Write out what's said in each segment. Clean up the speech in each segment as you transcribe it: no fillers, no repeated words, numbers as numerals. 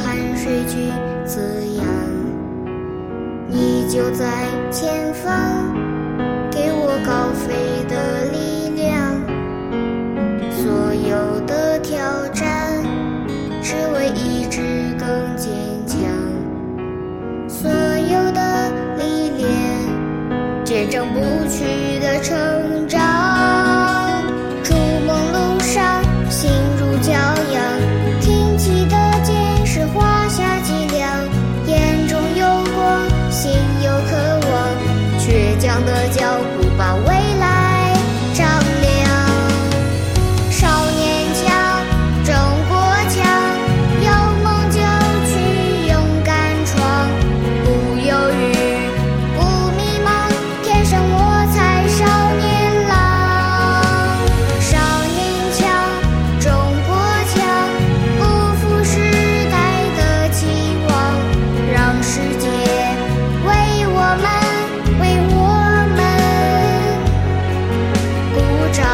汗水去滋养。你就在前方，给我高飞的力量。所有的挑战，只为意志更坚强。所有的历练，见证不去的成长。逐梦路上，心如骄阳，挺起的剑是华夏脊梁。眼中有光，心有渴望，倔强的脚步把未来丈量。少年强，中国强，有梦就去勇敢闯，不犹豫，不迷茫，天生我材少年郎。少年强，中国强，不负时代的期望，让世界为我们鼓掌。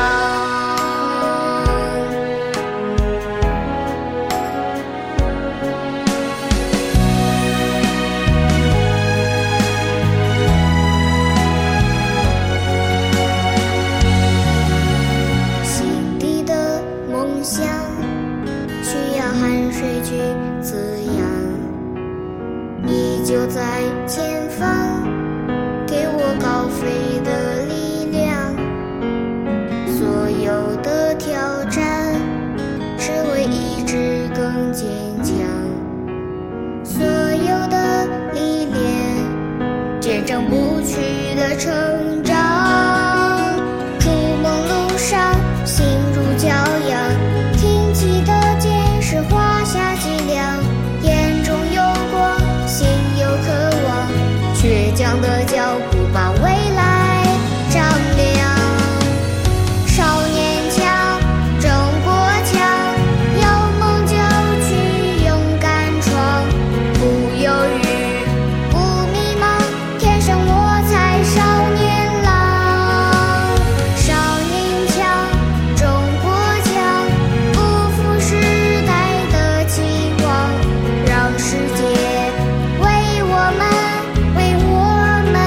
心底的梦想，需要汗水去滋养。你就在前方，给我高飞的力量。所有的挑战，只为意志更坚强。所有的历练，见证不去的成长。逐梦路上，心如骄阳，挺起的剑是华夏脊梁。眼中有光，心有渴望，倔强的脚步把未来丈量。少年强，中国强，有梦就去勇敢闯，不犹豫，不迷茫，天生我材少年郎。少年强，中国强，不负时代的期望，让世界为我们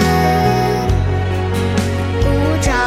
鼓掌。